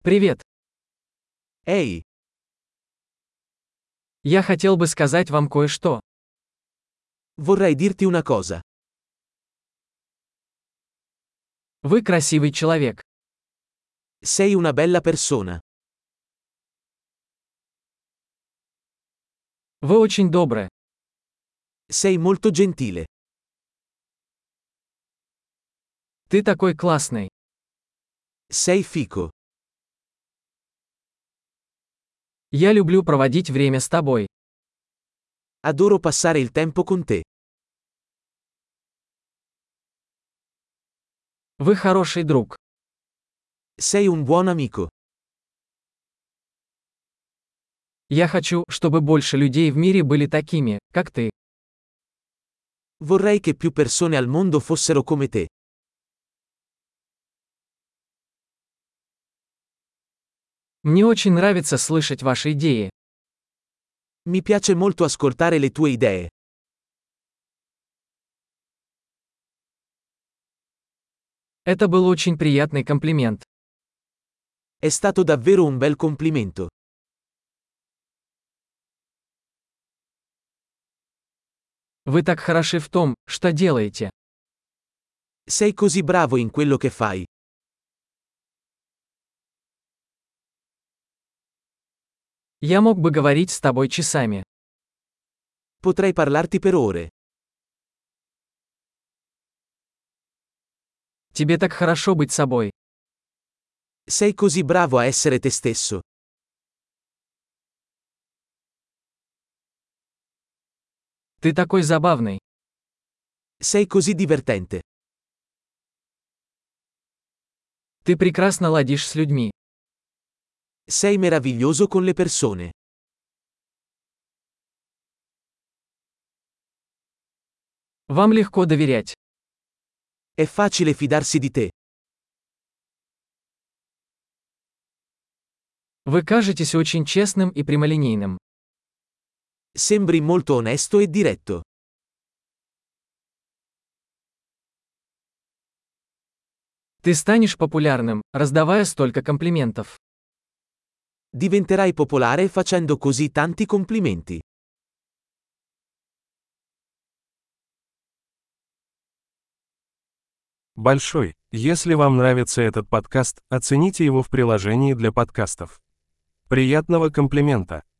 Привет. Ehi, Я хотел бы сказать вам кое-что. vorrei dirti una cosa. Вы красивый человек. Sei una bella persona. Вы очень добры. Sei molto gentile. Ты такой классный. Sei fico. Я люблю проводить время с тобой. Adoro passare il tempo con te. Вы хороший друг. Sei un buon amico. Я хочу, чтобы больше людей в мире были такими, как ты. Vorrei che più persone al mondo fossero come te. Мне очень нравится слышать ваши идеи. Mi piace molto ascoltare le tue idee. Это был очень приятный комплимент. È stato davvero un bel complimento. Вы так хороши в том, что делаете. Sei così bravo in quello che fai. Я мог бы говорить с тобой часами. Potrei parlarti per ore. Тебе так хорошо быть собой. Sei così bravo a essere te stesso. Ты такой забавный. Sei così divertente. Ты прекрасно ладишь с людьми. Sei meraviglioso con le persone. Вам легко доверять. È facile fidarsi di te. Вы кажетесь очень честным и прямолинейным. Sembri molto onesto e diretto. Ты станешь популярным, раздавая столько комплиментов. Diventerai popolare facendo così tanti complimenti. Большой. Если вам нравится этот подкаст, оцените его в приложении для подкастов. Приятного комплимента!